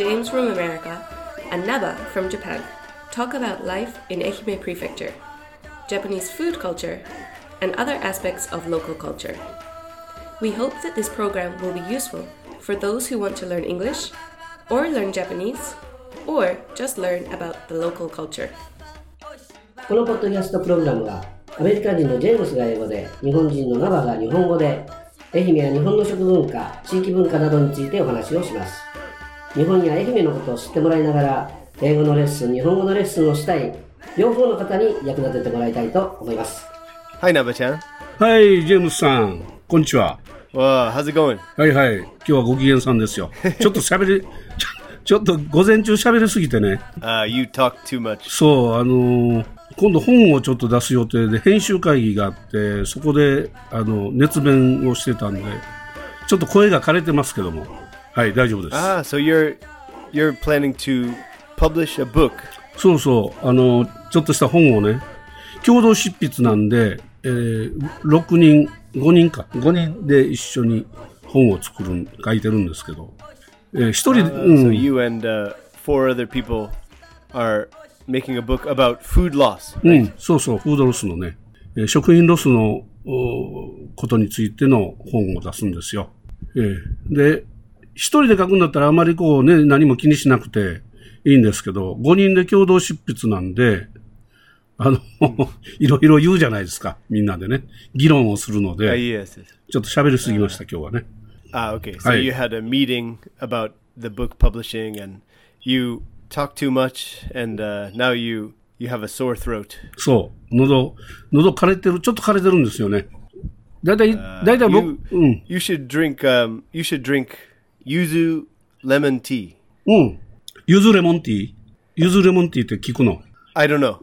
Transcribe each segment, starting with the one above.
James from America, and Naba from Japan talk about life in Ehime Prefecture, Japanese food culture, and other aspects of local culture. We hope that this program will be useful for those who want to learn English, or learn Japanese, or just learn about the local culture. このポッドキャストプログラムはアメリカ人のジェームスが英語で、日本人のナバが日本語で、愛媛や日本の食文化、地域文化などについてお話をします。日本や愛媛のことを知ってもらいながら、英語のレッスン、日本語のレッスンをしたい両方の方に役立ててもらいたいと思います。 Hi, Naba-chan. はい、ジェームスさん、こんにちは。 Wow, how's it going? はいはい、今日はご機嫌さんですよ。ちょっと午前中喋りすぎてね。 You talk too much. そう、今度本をちょっと出す予定で編集会議があって、そこで熱弁をしてたんで、ちょっと声が枯れてますけども、はい、大丈夫です。 So you're planning to publish a book? そうそう、ちょっとした本をね、共同執筆なんで、5人で一緒に本を書いてるんですけど、一人で、 So you and four other people are making a book about food loss, right? そうそう、フードロスのね、食品ロスのことについての本を出すんですよ。で、一人で書くんだったらあまりこうね、何も気にしなくていいんですけど、5人で共同執筆なんで、いろいろ言うじゃないですか、みんなでね。議論をするので、 yes. ちょっと喋りすぎました、今日はね。 Okay. So you had a meeting about the book publishing and you talk too much and now you have a sore throat. そう。喉枯れてる、ちょっと枯れてるんですよね。だいたい僕、 You should drink yuzu lemon tea. ゆずレモンティーって聞くの。 I don't know.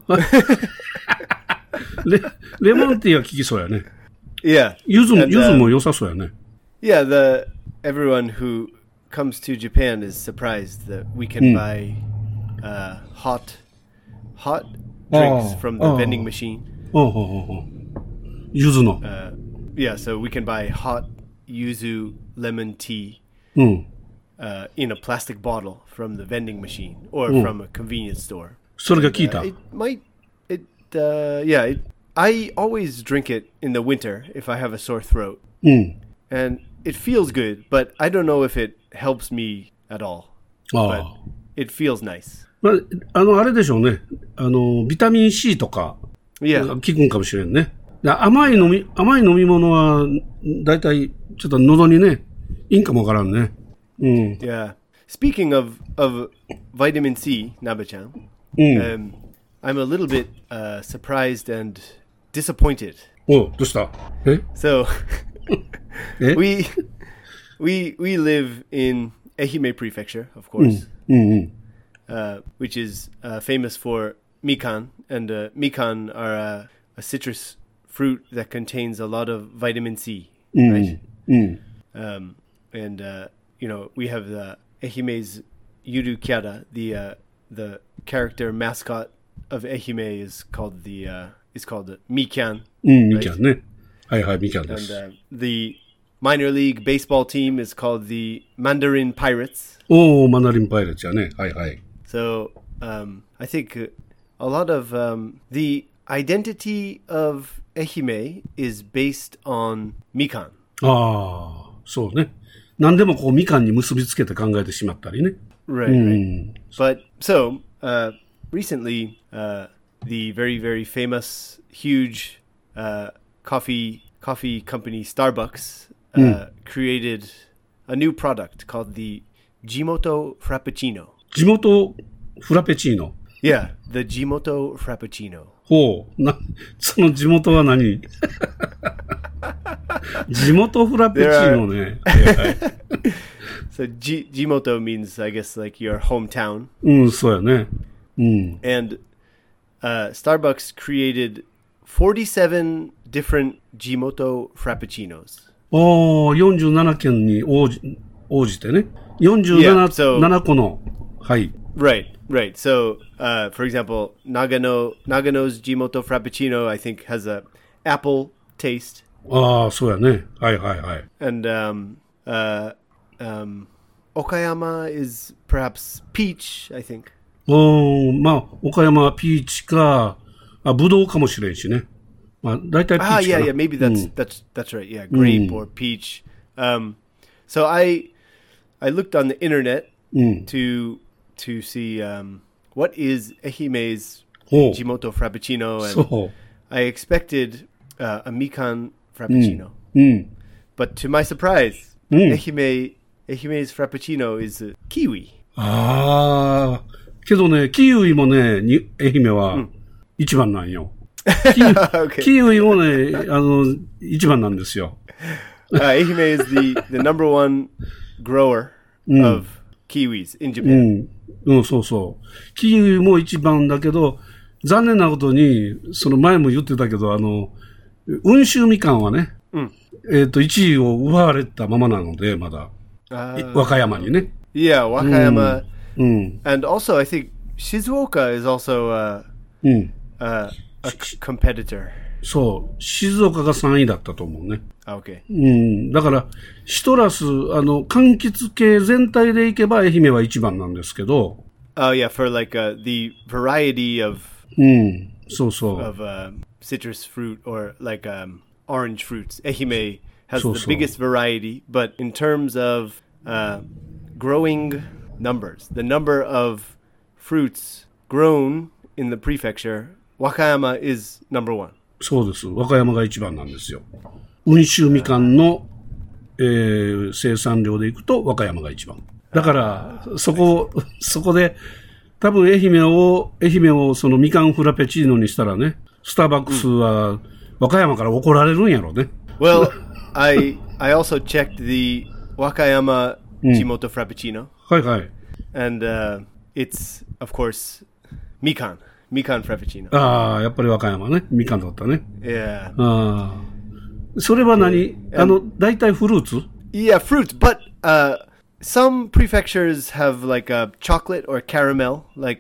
レモンティーは聞きそうやね。 Yeah. ゆずも良さそうやね。 Yeah, everyone who comes to Japan is surprised that we can buy hot drinks from the vending machine. ゆずの。 Yeah, so we can buy hot yuzu lemon tea in a plastic bottle from the vending machine or from a convenience store. それが聞いた。 I always drink it in the winter if I have a sore throat. And it feels good, but I don't know if it helps me at all. But it feels nice. あれでしょうね。ビタミン C とか、効くんかもしれんね。甘い飲み物は、だいたいちょっと喉にね、いいんかもわからんね。 Yeah. Speaking of vitamin C, Naba-chan, I'm a little bit surprised and disappointed. どうした？ So, we live in Ehime Prefecture, of course, which is famous for mikan, and mikan are a citrus fruit that contains a lot of vitamin C, right? And we have the Ehime's Yuru Kyara, the character mascot of Ehime is called Mikan. Mikan ね。はいはい、Mikan です。 And the minor league baseball team is called the Mandarin Pirates. Mandarin Pirates やね。はいはい。 So, I think a lot of the identity of Ehime is based on Mikan. そうね。何でもこうみかんに結びつけて考えてしまったりね。 Right. But so recently, the very very famous huge coffee company Starbucks created a new product called the Jimoto Frappuccino. Jimoto Frappuccino. Yeah, the Jimoto Frappuccino. その地元は何？地元フラペチーノね。 So Jimoto means, I guess, like your hometown. そうやね。 And Starbucks created 47 different Jimoto Frappuccinos. 47件に応じてね。47個の。はい。 Right. So, for example, Nagano's Jimoto Frappuccino, I think, has a apple taste. そうやね。はい。 And Okayama is perhaps peach, I think. まあ、岡山はピーチか、ブドウかもしれんしね。まあ、大体ピーチかな。 Yeah, maybe that's right. Yeah, grape or peach. So I looked on the internet to see what is Ehime's Jimoto Frappuccino, and I expected a Mikan Frappuccino. But to my surprise, Ehime's Frappuccino is kiwi. けどね、キウイもね、愛媛は一番なんよ。キウイもね、一番なんですよ。 愛媛 is the number one grower of kiwis in Japan. そうそう。キウイも一番だけど、残念なことに、その前も言ってたけど、温州みかんはね、1位を奪われたままなので、まだ。和歌山にね。 Yeah, Wakayama. And also, I think Shizuoka is also a competitor. そう。静岡が3位だったと思うね。 Okay. だから、シトラス、柑橘系全体でいけば愛媛は一番なんですけど。 Oh, yeah, for like the variety of, そうそう。 of citrus fruit or like orange fruits. Ehime has the biggest variety, but in terms of growing numbers, the number of fruits grown in the prefecture, Wakayama is number one. そうです。和歌山が一番なんですよ。温州みかんの、生産量でいくと和歌山が一番。だから、そこで、多分愛媛をそのみかんフラペチーノにしたらね、スターバックスは和歌山から怒られるんやろうね。 Well, I also checked the Wakayama Jimoto Frappuccino. はいはい。 And it's, of course, Mikan Frappuccino. やっぱり和歌山ね。みかんだったね。 Yeah. それは何？大体フルーツ？ Yeah, fruit. But some prefectures have like a chocolate or caramel. Like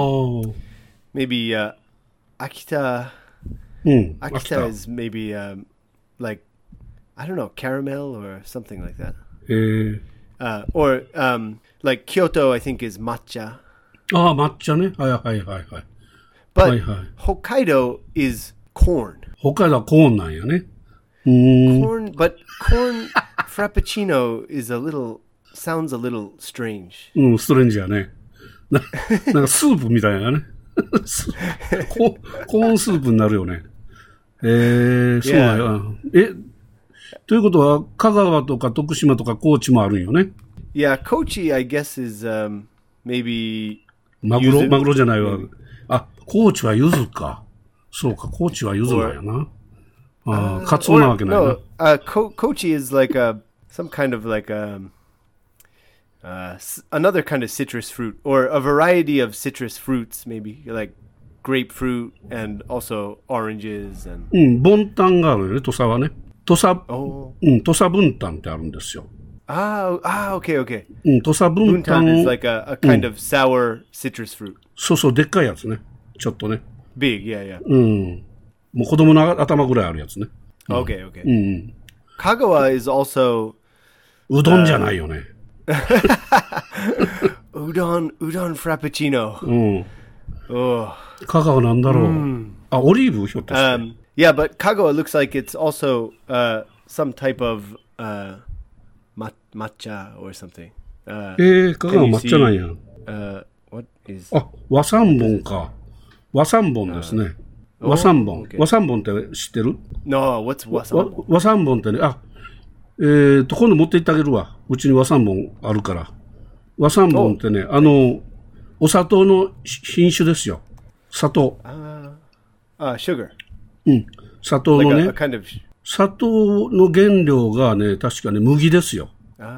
maybe Akita. Akita is maybe like, I don't know, caramel or something like that. Or like Kyoto, I think, is matcha. 抹茶ね。はい。 But Hokkaido is corn. 北海道はコーンなんやね。 Corn, but corn frappuccino sounds a little strange. ストレンジやね。なんかスープみたいなね。コーンスープになるよね。そうなんや。ということは、香川とか徳島とか高知もあるんよね。 Yeah, Kochi, I guess, is maybe マグロじゃないわ。高知は柚子か。そうか、高知は柚子なんやな。カツオなわけないな。 Kochi is like some kind of like another kind of citrus fruit, or a variety of citrus fruits, maybe like grapefruit and also oranges and. ボンタンがあるよね、土佐はね。土佐分担ってあるんですよ。 okay. 土佐分担 is like a kind of sour citrus fruit. そう、でっかいやつね。ちょっとね。 Big, yeah. もう子供の頭ぐらいあるやつね。 Okay. Kagawa is also うどんじゃないよね。 うどんfrappuccino. 香川なんだろう。オリーブひょっとして。 Yeah, but Kagawa looks like it's also some type of matcha or something. 香川抹茶なんや。 What is? 和三盆か。和三盆ですね。和三盆。和三盆って知ってる？ No, what's 和三盆？ 和三盆ってね、今度持って行ってあげるわ。うちに和三盆あるから。和三盆ってね、お砂糖の品種ですよ。砂糖。 sugar。 砂糖のね、 kind of... 砂糖の原料がね、確かね、麦ですよ。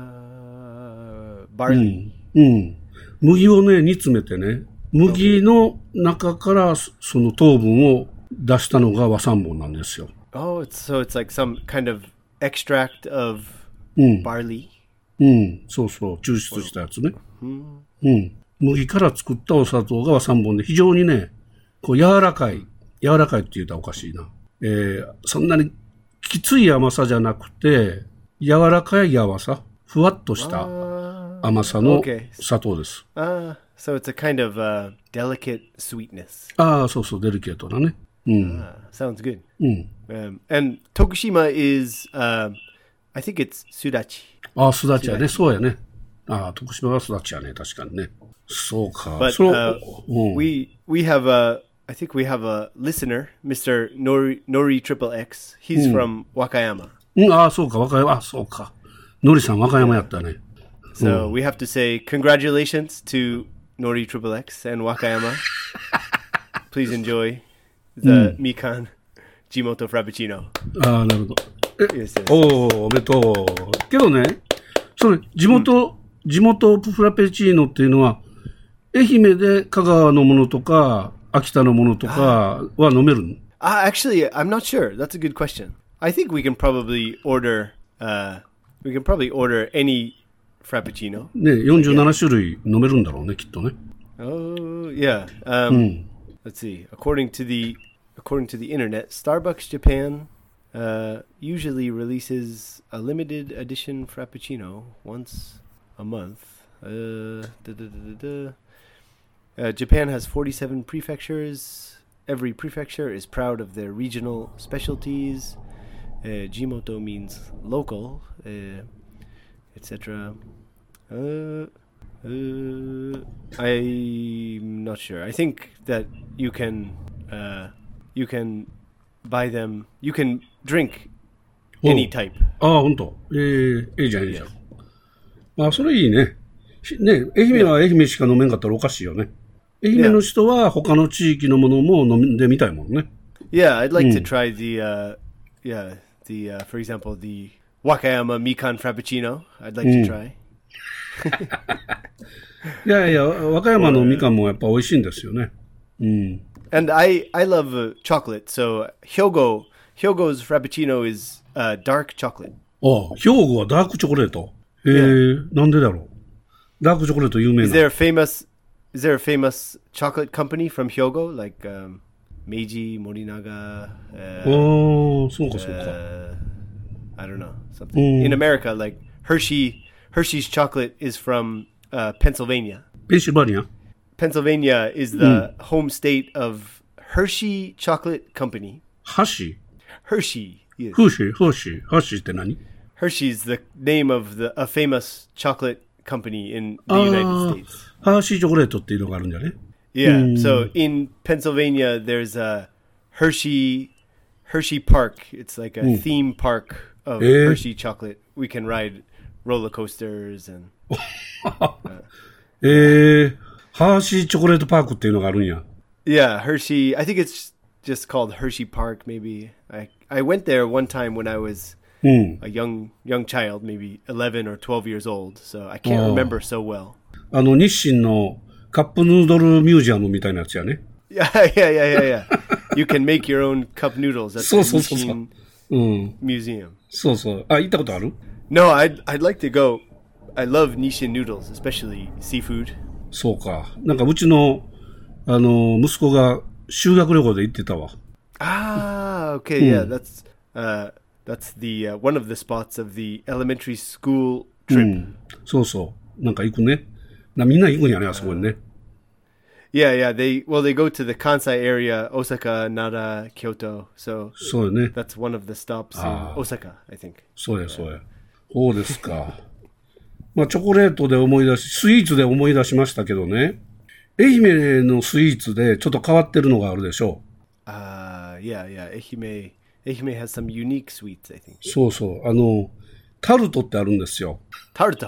barley。 麦をね、煮詰めてね、麦の中からその糖分を出したのが和三盆なんですよ。 So it's like some kind of extract of barley? そう、抽出したやつね。麦から作ったお砂糖が和三盆で非常にね、こう柔らかいって言ったらおかしいな。そんなにきつい甘さじゃなくて、柔らかい柔さ、 ふわっとした甘さの砂糖です。 So it's a kind of delicate sweetness. そうそう、デリケートなね。 Sounds good. And Tokushima is, I think it's sudachi. すだちやね。そうやね。徳島はすだちやね。確かにね。そうか。 But we have I think we have a listener, Mr. Nori Triple X. He's from Wakayama. そうか、和歌山。そうか。のりさん、和歌山やったね。 So we have to say congratulations to Nori Triple X and Wakayama. Please enjoy the Mikan Jimoto Frappuccino. なるほど。 Yes. おめでとう。けどね、それ、地元フラペチーノっていうのは、愛媛で香川のものとか、秋田のものとかは飲めるの ？Actually, I'm not sure. That's a good question. I think we can probably order any Frappuccino. ね、47種類飲めるんだろうね、きっとね。 Oh, yeah. Let's see. According to the internet, Starbucks Japan usually releases a limited edition Frappuccino once a month. Japan has 47 prefectures. Every prefecture is proud of their regional specialties. Jimoto means local, etc. I'm not sure. I think that you can buy them. You can drink any type. 本当。いいじゃん、いいじゃん。それいいね。ね、愛媛は愛媛しか飲めんかったらおかしいよね。愛媛の人は他の地域のものも飲んでみたいもんね。 Yeah, I'd like to try for example, the Wakayama Mikan Frappuccino. I'd like to try. いや、和歌山のみかんもやっぱ美味しいんですよね。 And I love chocolate, so Hyogo's Frappuccino is dark chocolate. 兵庫はダークチョコレート。なんでだろう。ダークチョコレート有名な。 Is there a famous chocolate company from Hyogo, like Meiji, Morinaga? そうか。 I don't know, something. In America, like Hershey's chocolate is from Pennsylvania. Pennsylvania? Pennsylvania is the home state of Hershey Chocolate Company. Hershey? Hershey. Yes. Hershey って何？ Hershey is the name of a famous chocolate company in the United States. ハーシーチョコレートっていうのがあるんだね。 Yeah. So in Pennsylvania, there's a Hershey Park. It's like a theme park of Hershey chocolate. We can ride roller coasters and. ハーシーチョコレートパークっていうのがあるんや。 Yeah, Hershey. I think it's just called Hershey Park. Maybe I went there one time when I was a young child, maybe 11 or 12 years old. So I can't remember so well. 日清のカップヌードルミュージアムみたいなやつやね。 Yeah. You can make your own cup noodles at the Nissin Museum. そうそう。行ったことある？ No, I'd like to go. I love Nissin noodles, especially seafood. そうか。なんかうちの息子が修学旅行で行ってたわ。 Okay, yeah, that's the one of the spots of the elementary school trip. そうそう。なんか行くね。みんな行くんやね、あそこにね。 Yeah, they go to the Kansai area, Osaka, Nara, Kyoto. So そうよね。 that's one of the stops in Osaka, I think. そうや。そうですか。まあチョコレートで思い出し、スイーツで思い出しましたけどね。愛媛のスイーツでちょっと変わってるのがあるでしょう。 Yeah. 愛媛 has some unique sweets, I think. そうそう。タルトってあるんですよ。 タルト。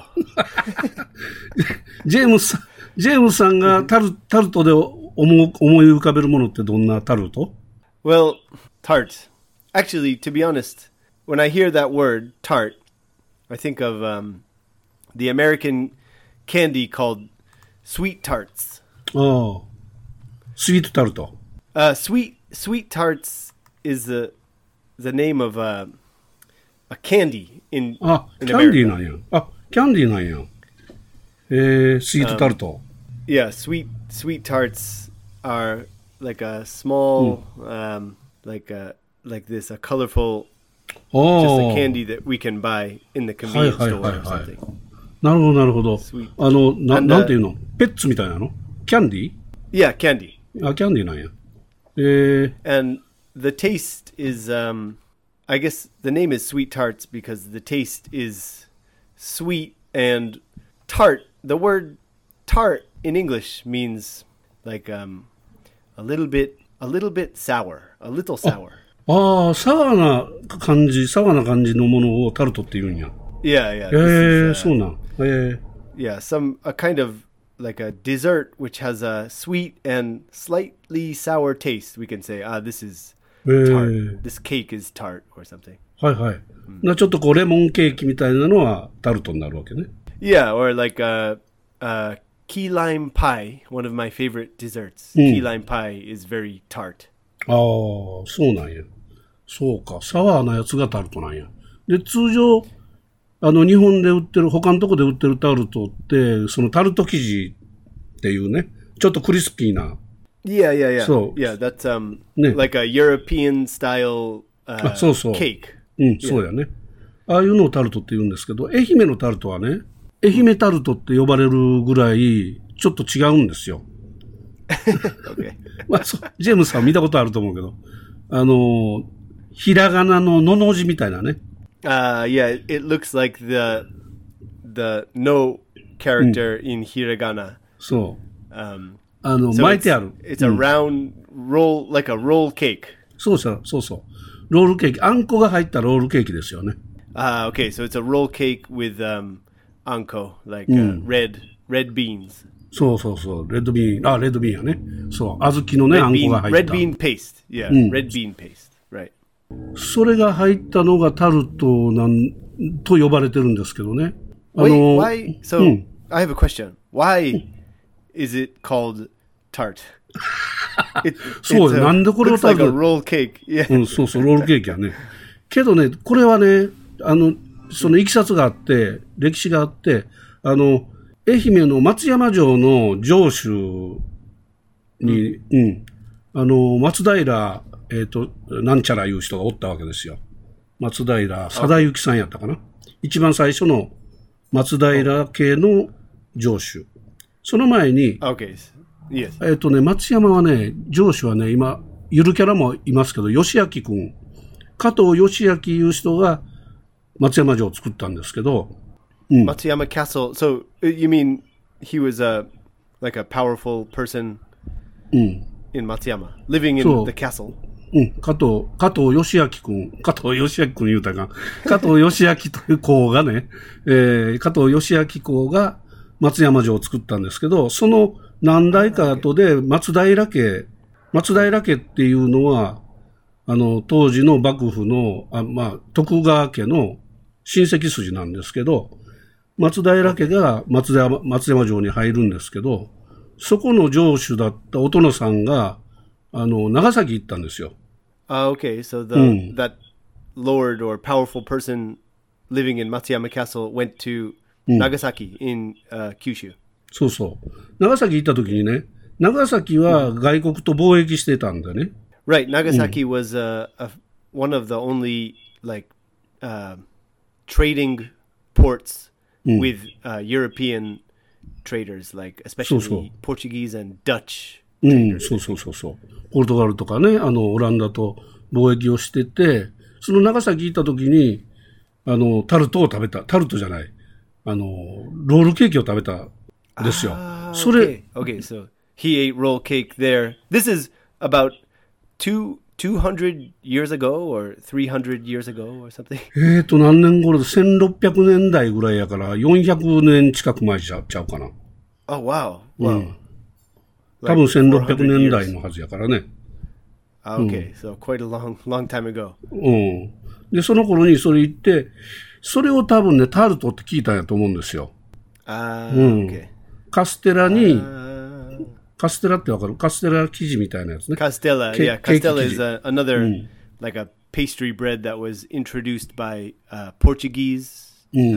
ジェームスさんがタルトで思い浮かべるものってどんなタルト？ Well, tart. Actually, to be honest, when I hear that word, tart, I think of the American candy called sweet tarts. スイートタルト。 Sweet tarts is the name of a candy in America. キャンディーなんや。キャンディーなんや。スイートタルト。 Yeah, sweet tarts are like a small, like this, a colorful Just a candy that we can buy in the convenience store or something. なるほど、なるほど。なんていうの？ペッツみたいなの？キャンディー？ Yeah, candy. あ、キャンディーなんや。 And the taste is, I guess the name is Sweet Tarts because the taste is sweet and tart. The word tart in English means like a little bit sour, a little sour. ああ、サワーな感じのものをタルトって言うんや。 Yeah. そうなん。 Yeah, a kind of like a dessert which has a sweet and slightly sour taste. We can say, this is tart. This cake is tart or something. はいはい。ちょっとこうレモンケーキみたいなのはタルトになるわけね。 Yeah, or like key lime pie, one of my favorite desserts. Key lime pie is very tart. ああ、そうなんや。そうか。サワーなやつがタルトなんや。で、通常、日本で売ってる、他のとこで売ってるタルトって、そのタルト生地っていうね、ちょっとクリスピーな。 Yeah. So, yeah, that's like a European style そうそう。 cake. そうやね。ああいうのをタルトって言うんですけど、愛媛のタルトはね、愛媛タルトって呼ばれるぐらい、ちょっと違うんですよ。 Okay. まあ、ジェームスさん見たことあると思うけど、ひらがなののの字みたいなね。 Yeah, it looks like the no character in hiragana. そう。 So 巻いてある。 It's a round roll, like a roll cake. そう。ロールケーキ。あんこが入ったロールケーキですよね。 Okay, so it's a roll cake with anko, like red beans. そう。レッドビーンやね。そう。小豆のね、あんこが入った。 Red bean paste. Yeah, red bean paste. Right. それが入ったのがタルトと呼ばれてるんですけどね。 Why? So, I have a question. Why is it called tart? そうよ。なんでこれをタルト looks like a roll cake. Yeah. そう、ロールケーキやね。けどね、これはね、そのいきさつがあって、歴史があって、愛媛の松山城の城主に、松平、なんちゃらいう人がおったわけですよ。松平貞之さんやったかな。一番最初の松平家の城主。その前に、 Okay. Yes. 松山はね、城主はね、今、ゆるキャラもいますけど、義明くん、加藤義明いう人が松山城を作ったんですけど、 Matsuyama Castle. So you mean he was like a powerful person in Matsuyama, living in the castle? 加藤義明くん言うたか。加藤義明という公がね、加藤義明公が松山城を作ったんですけど、その何代か後で松平家っていうのは、当時の幕府の、徳川家の親戚筋なんですけど、松平家が松山城に入るんですけど、そこの城主だったお殿さんが、長崎行ったんですよ。 Okay, so that lord or powerful person living in Matsuyama Castle went to Nagasaki in Kyushu. そう。長崎行った時にね、長崎は外国と貿易してたんだね。 Right, Nagasaki was one of the only like trading ports with European traders, like especially Portuguese and Dutch traders. そう。ポルトガルとかね、オランダと貿易をしてて、その長崎行った時に、タルトじゃない、ロールケーキを食べたんですよ。それ、 Okay, so he ate roll cake there. This is about 200 years ago or 300 years ago or something? 何年頃で1600年代ぐらいやから400年近く前ちゃうかな。 Oh, wow. 多分1600年代のはずやからね。 Okay, so quite a long time ago. で、その頃にそれ言って、それを多分ね、タルトって聞いたんやと思うんですよ。 Okay. カステラに、カステラってわかる？カステラ生地みたいなやつね。 Castella, yeah. Castella is another like a pastry bread that was introduced by Portuguese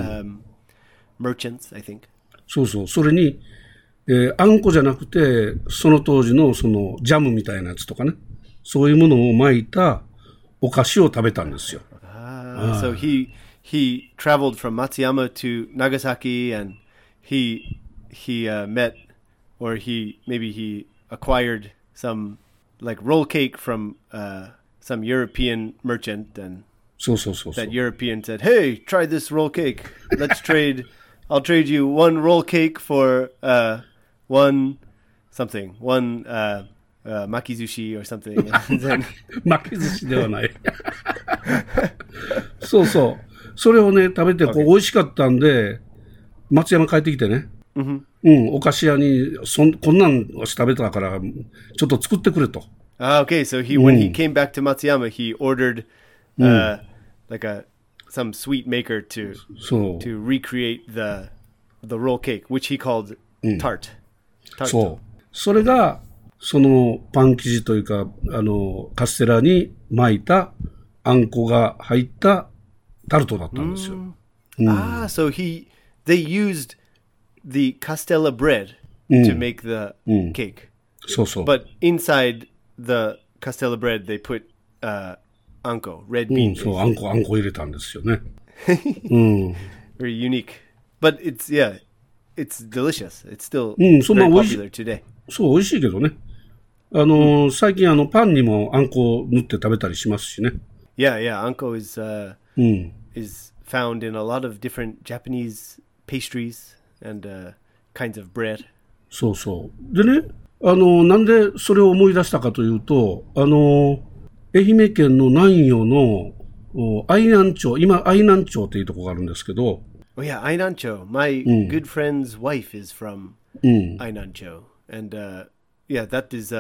merchants, I think. そう。それに、あんこじゃなくて、その当時のそのジャムみたいなやつとかね、そういうものを巻いたお菓子を食べたんですよ。 So he traveled from Matsuyama to Nagasaki, and he met, or he acquired some like roll cake from some European merchant, and that European said, "Hey, try this roll cake. Let's trade. I'll trade you one roll cake for one makizushi or something." And then 巻き寿司ではない。そうそう。それをね、食べて美味しかったんで、松山帰ってきてね。お菓子屋にこんなん食べたから、ちょっと作ってくれと。 Okay, so when he came back to Matsuyama, he ordered like some sweet maker to recreate the roll cake, which he called tart. そう。それがそのパン生地というかカステラに巻いたあんこが入ったタルトだったんですよ。 So they used the castella bread to make the cake. そうそう。 But inside the castella bread, they put anko, red bean. そう、あんこ入れたんですよね。 Very unique. But it's delicious. It's still very popular today. そう、美味しいけどね。最近パンにもあんこ塗って食べたりしますしね。 Yeah, anko is found in a lot of different Japanese pastries and kinds of bread. そうそう。でね、なんでそれを思い出したかというと、愛媛県の南予の愛南町、今愛南町っていうところがあるんですけど。 Oh yeah, Ainancho. My good friend's wife is from Ainancho, and that's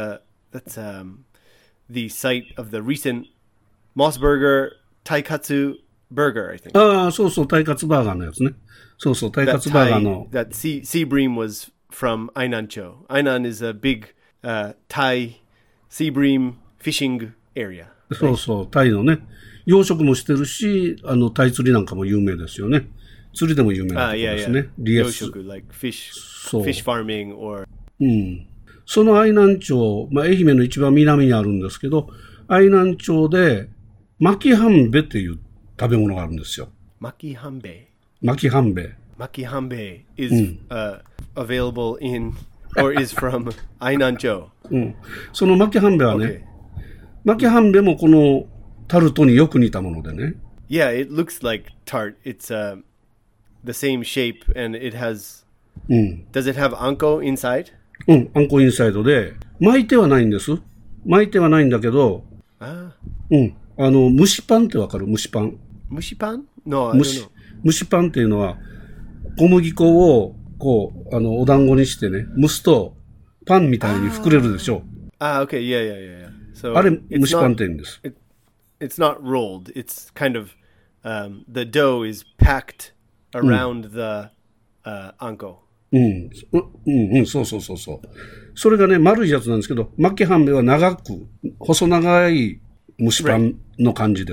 the site of the recent Mossburger Taikatsu burger, I think. ああ、そうそう、タイカツバーガーのやつね。そうそう、タイカツバーガーの。 That sea bream was from Ainancho. Ainan is a big Thai sea bream fishing area. そうそう、タイのね、養殖もしてるし、タイ釣りなんかも有名ですよね。釣りでも有名なところですね。 養殖、like fish farming or。 その愛南町、愛媛の一番南にあるんですけど、愛南町で、巻き半べっていう食べ物があるんですよ。 巻き半べ。 巻き半べ。 巻き半べ is available in or is from 愛南町。 その巻き半べはね、巻き半べもこのタルトによく似たものでね。 Yeah, it looks like tart. It's the same shape and it has. Does it have anko inside? あんこインサイドで巻いてはないんです。巻いてはないんだけど。蒸しパンってわかる？蒸しパン。 蒸しパン？ No, 蒸しパンっていうのは小麦粉をこうお団子にしてね蒸すとパンみたいに膨れるでしょ。 Okay, yeah. So あれ蒸しパンって言うんです。 It's not rolled. It's kind of the dough is packed around the anko. そう。それがね、丸いやつなんですけど、巻き半べは長く、細長い蒸しパンの感じです。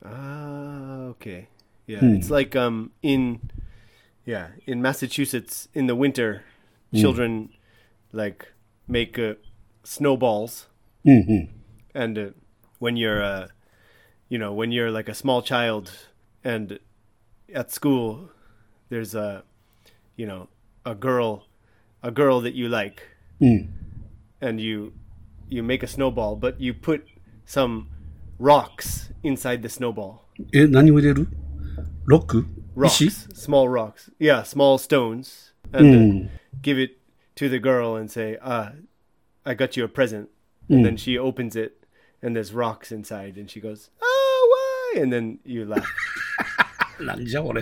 Okay. Yeah, it's like in Massachusetts in the winter, children like make snowballs. And when you're when you're like a small child and at school there's a girl that you like, and you make a snowball, but you put some rocks inside the snowball. 何を入れる？ロック？ Rocks, small rocks. Yeah, small stones. And give it to the girl and say, I got you a present. And then she opens it and there's rocks inside and she goes, oh, why? And then you laugh. なんじゃ俺。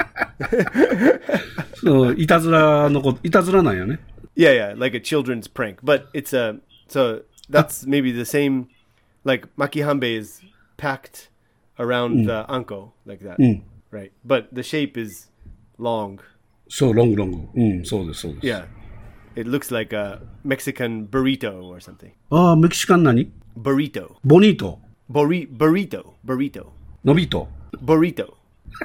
そう、いたずらなんよね。 Yeah, like a children's prank. But it's so that's maybe the same, like makihanbe is packed around the anko like that, right? But the shape is long. So long. そうです。 Yeah, it looks like a Mexican burrito or something. メキシカン何？ Burrito. ボニート。 Burrito. ノビート。 Burrito.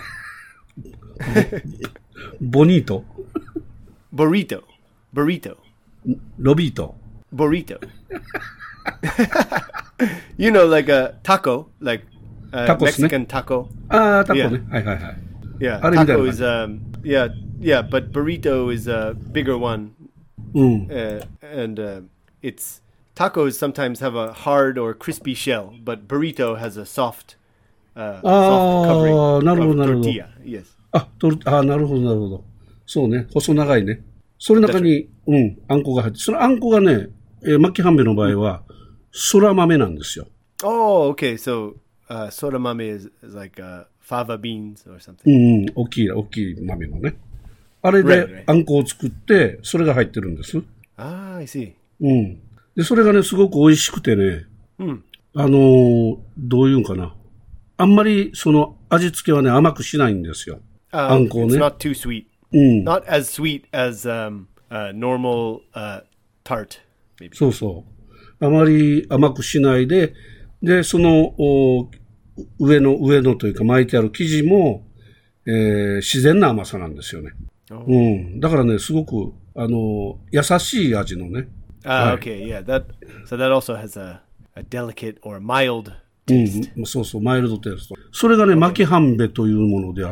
ボニート。 Burrito. ロビート。 Burrito. You know, like a taco, like Tacos ね。 Mexican taco. ああ、タコね。 Yeah. はいはいはい。 Yeah, あれみたいな taco 感 is じ。 yeah, but burrito is a bigger one, うん。 and it's tacos sometimes have a hard or crispy shell, but burrito has a soft covering なるほど of なるほど。 tortilla. Yes. なるほどなるほど。そうね。細長いね。それの中に、あんこが入って、そのあんこがね、巻き半べの場合は、そら豆なんですよ。 Oh, okay. So soramame is like fava beans or something. 大きい豆のね。あれ Right, で right. あんこを作って、それが入ってるんです。 Ah, I see. で、それがね、すごく美味しくてね、どういうんかな。あんまり、その、味付けはね、甘くしないんですよ。あんこを It's ね。 not too sweet. Not as sweet as normal tart, maybe. そうそう。あまり甘くしないで、で、その、上のというか巻いてある生地も、自然な甘さなんですよね。だからね、すごく、優しい味のね。 Okay, yeah. So that also has a delicate or mild taste. そうそう、マイルドテイスト。それがね、巻き半べというものであって、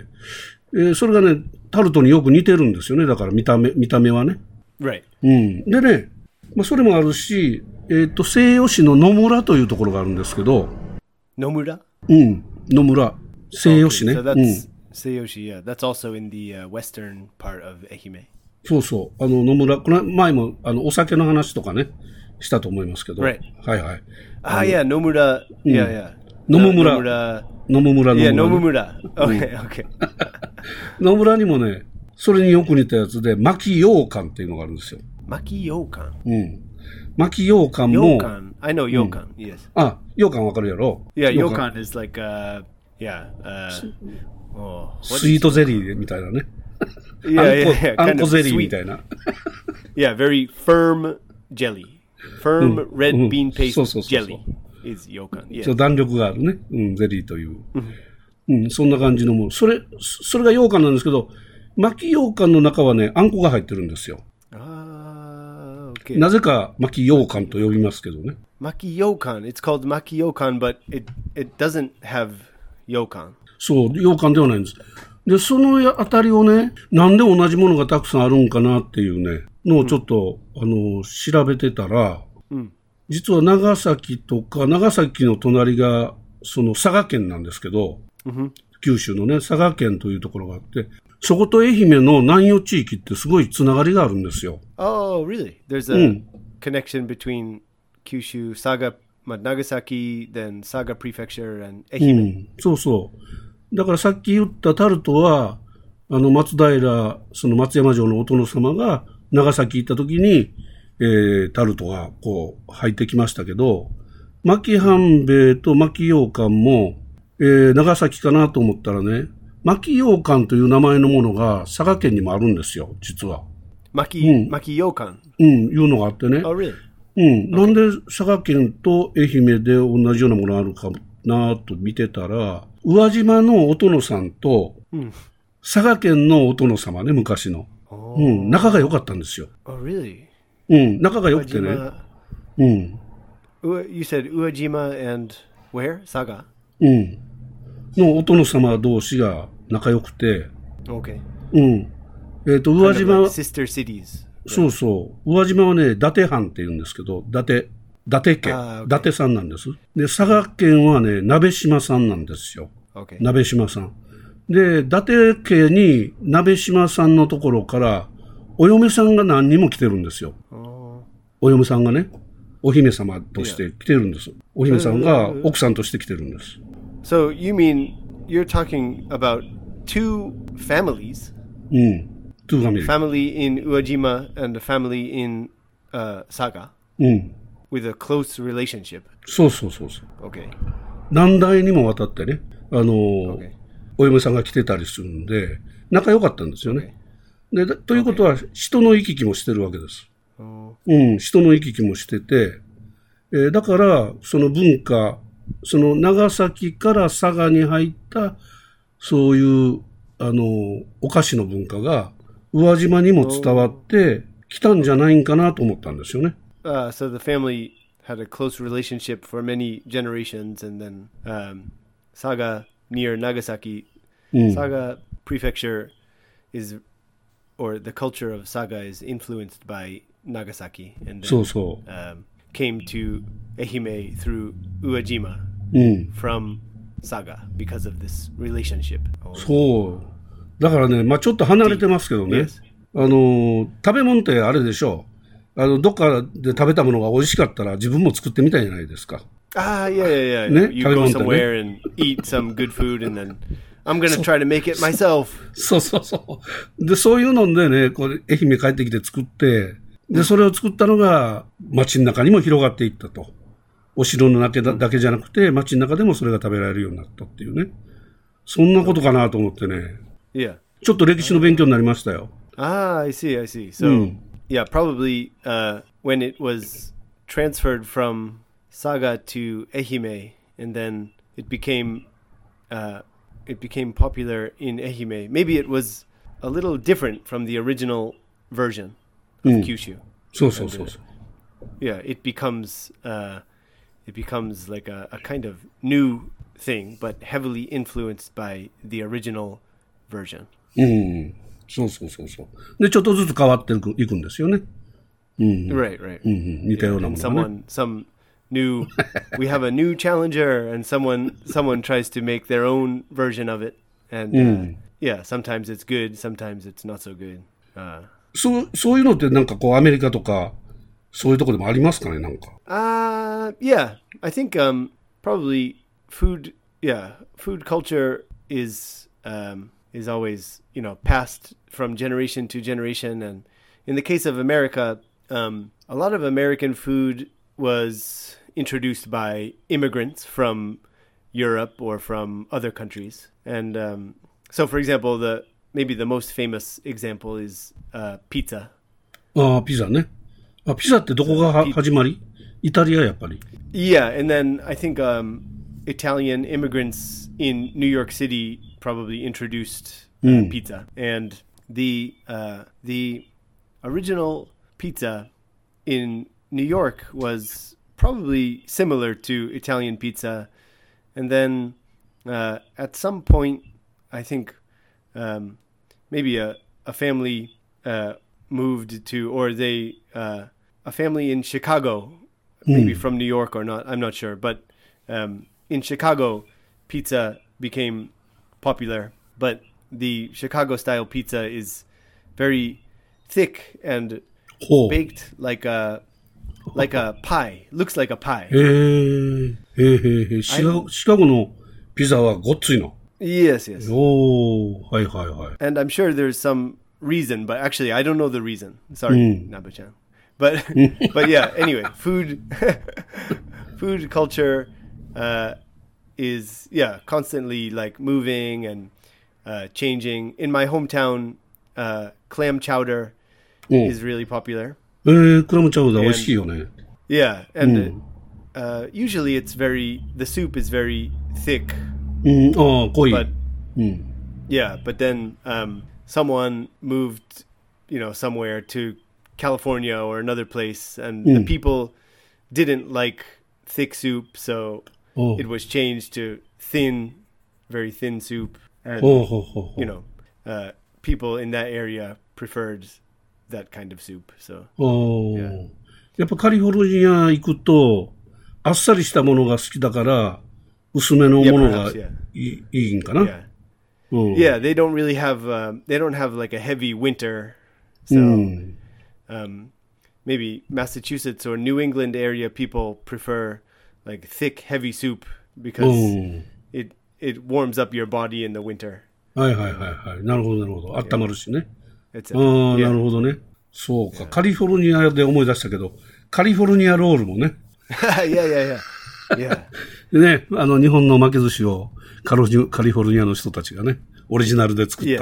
それがね、タルトによく似てるんですよね。だから見た目はね。 Right. でね、それもあるし、西予市の野村というところがあるんですけど、 Nomura? 野村、西予市ね。 So that's Seiyoshi, yeah. That's also in the western part of Ehime. そうそう。野村、この前も、お酒の話とかね、したと思いますけど。 Right. はいはい。 Ah, yeah, Nomura. Yeah, yeah. Nomura. Nomura. Yeah, Nomura. Okay, okay. 野村にもね、それによく似たやつで、巻き羊羹っていうのがあるんですよ。 Maki yokan. 巻き羊羹も、 Yokan. I know yokan, yes. 羊羹わかるやろ Yeah, 羊羹 yokan is like, what スイートゼリーみたいなね。 Yeah, あん kind こ of ゼリー sweet. みたいな。 Yeah, very firm jelly. Firm red bean paste そうそうそうそう。 jelly is yokan. ちょ Yeah. っと弾力があるね。ゼリーという。そんな感じのもの。それが羊羹なんですけど、巻き羊羹の中はね、あんこが入ってるんですよ。 Ah, okay. なぜか巻き羊羹と呼びますけどね。 Maki yokan. It's called maki yokan, but it doesn't have yokan. そう、羊羹ではないんです。で、そのあたりをね、なんで同じものがたくさんあるんかなっていうね、のをちょっと、調べてたら、実は長崎の隣が、その佐賀県なんですけど、九州のね、佐賀県というところがあって、そこと愛媛の南予地域ってすごいつながりがあるんですよ。 Oh, really? There's a connection between Kyushu, Saga, Nagasaki, then Saga Prefecture and Ehime. そうそう。だからさっき言ったタルトは、松平、その松山城のお殿様が長崎行った時に、タルトがこう入ってきましたけど、巻き半べいと巻き羊羹も、長崎かなと思ったらね、巻き羊羹という名前のものが佐賀県にもあるんですよ、実は。 Maki yokan. いうのがあってね。 Oh, really? なんで佐賀県と愛媛で同じようなものがあるかなと見てたら、宇和島のお殿さんと、佐賀県のお殿様ね、昔の。仲が良かったんですよ。 Oh, really? 仲が良くてね。 You said Uejima and where? Saga? のお殿様同士が仲良くて、 Okay. 宇和 Kind of 島 like sister cities. そうそう。宇和島はね、伊達藩って言うんですけど、伊達家、 あー伊達さんなんです。で、佐賀県はね、鍋島さんなんですよ。 Okay. 鍋島さん。で、伊達家に鍋島さんのところから、お嫁さんが何人も来てるんですよ。お嫁さんがね、お姫様として来てるんです。お姫さんが奥さんとして来てるんです。 So you mean you're talking about two families? トゥーファミリー。 Family in Uejima and a family in Saga? With a close relationship. そうそうそうそう。 Okay. 何代にもわたってね、 Okay. お嫁さんが来てたりするんで、仲良かったんですよね。で、ということは、人の行き来もしてるわけです。人の行き来もしてて、だから、その文化、その長崎から佐賀に入った、そういう、お菓子の文化が、宇和島にも伝わってきたんじゃないんかなと思ったんですよね。 So the family had a close relationship for many generations, and then Saga near Nagasaki, Saga Prefecture is, or the culture of Saga is influenced by Nagasaki, and then, came to Ehime through Uejima from Saga because of this relationship. そう。だからね、まあちょっと離れてますけどね。 Yes. 食べ物ってあれでしょう。どっかで食べたものが美味しかったら自分も作ってみたいじゃないですか。 Yeah. ね、 You go somewhere and eat some good food, and then I'm gonna try to make it myself. そう。で、そういうのでね、これ愛媛帰ってきて作って、で、それを作ったのが街の中にも広がっていったと。お城の中だけじゃなくて、街の中でもそれが食べられるようになったっていうね。そんなことかなと思ってね。 Yeah. ちょっと歴史の勉強になりましたよ。 I see. So, yeah, probably when it was transferred from Saga to Ehime, and then it became popular in Ehime. Maybe it was a little different from the original version of Kyushu. そう。 Yeah, it becomes like a kind of new thing, but heavily influenced by the original version. そう。で、ちょっとずつ変わっていくんですよね。 Right. 似たようなものがね。 Some new, we have a new challenger, and someone tries to make their own version of it, and yeah, sometimes it's good, sometimes it's not so good. そういうのってなんかこうアメリカとかそういうところでもありますかね、なんか。 Yeah, I think probably food culture is always, passed from generation to generation, and in the case of America, a lot of American food was introduced by immigrants from Europe or from other countries, and so, for example, maybe the most famous example is pizza. ピザね。ピザってどこが始まり？イタリアやっぱり。 Yeah, and then I think Italian immigrants in New York City probably introduced pizza, and the original pizza in New York was probably similar to Italian pizza, and then at some point, I think maybe a family moved to, or a family in Chicago, maybe from New York or not, I'm not sure, but in Chicago, pizza became popular, but the Chicago-style pizza is very thick and baked like a pie. Looks like a pie. シカゴのピザはごっついの。 Yes. はい。 And I'm sure there's some reason, but actually I don't know the reason. Sorry, Nabu-chan. But yeah, anyway, food culture is constantly like moving and changing. In my hometown, clam chowder is really popular. クラムチャウダー美味しいよね。 Yeah, and usually the soup is very thick. 濃い。 But but then someone moved, somewhere to California or another place, and the people didn't like thick soup, so it was changed to very thin soup, and people in that area preferred that kind of soup. So やっぱカリフォルニア行くとあっさりしたものが好きだから薄めのものがいいんかな。 Yeah, they don't really have like a heavy winter, so maybe Massachusetts or New England area people prefer like thick, heavy soup because it warms up your body in the winter. はい。なるほど。温まるしね。なるほどね。そうか。カリフォルニアで思い出したけど、カリフォルニアロールもね。 Yeah. ね、日本の巻き寿司をカリフォルニアの人たちがね、オリジナルで作った。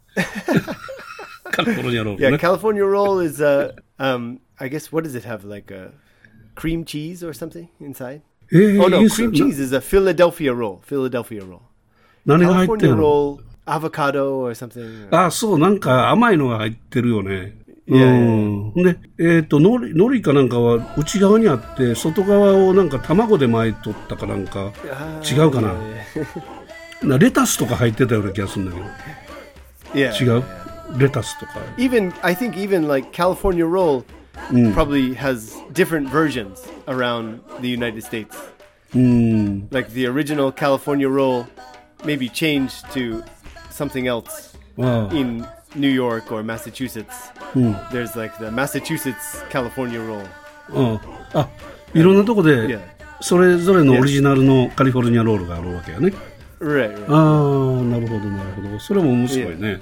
カリフォルニアロールね。 Yeah, California roll is I guess what does it have, like a cream cheese or something inside? Oh no, cream cheese is a Philadelphia roll. 何が入ってる California roll, avocado or something. そう、なんか甘いのが入ってるよね。 で、海苔かなんかは内側にあって、外側をなんか卵で巻いとったかなんか、違うかな。レタスとか入ってたような気がするんだけど。違うレタスとか。 I think even like California roll probably has different versions around the United States. Like the original California roll maybe changed to something else in New York or Massachusetts. There's like the Massachusetts California roll. いろんなとこでそれぞれのオリジナルのカリフォルニアロールがあるわけやね。 Right. なるほどなるほど。それも面白いね。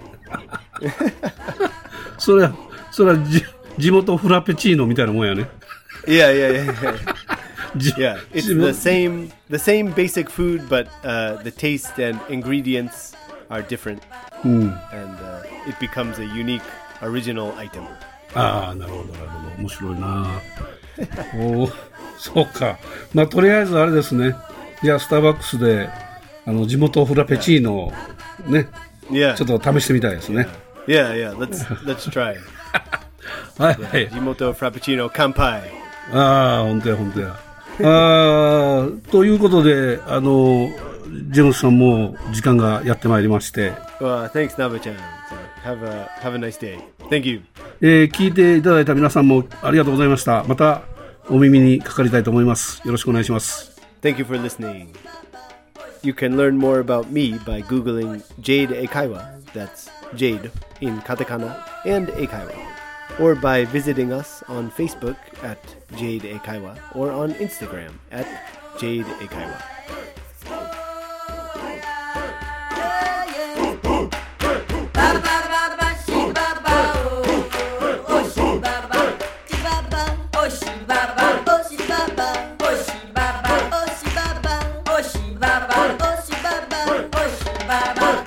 それは地元フラペチーノみたいなもんやね。 Yeah, it's the same basic food, but the taste and ingredients are different, and it becomes a unique original item. なるほどなるほど。面白いな。そうか。まあとりあえずあれですね。じゃあスターバックスで地元フラペチーノをね、ちょっと試してみたいですね。 Let's try. はいはい。 地元フラペチーノ乾杯。 本当や。ということで、ジェームスさんも時間がやってまいりまして。 Thanks, Naba-chan. Have a nice day. Thank you. 聞いていただいた皆さんもありがとうございました。またお耳にかかりたいと思います。よろしくお願いします。 Thank you for listening. You can learn more about me by Googling Jade Eikaiwa. That's Jade in katakana and Eikaiwa. Or by visiting us on Facebook at Jade Eikaiwa or on Instagram at Jade Eikaiwa.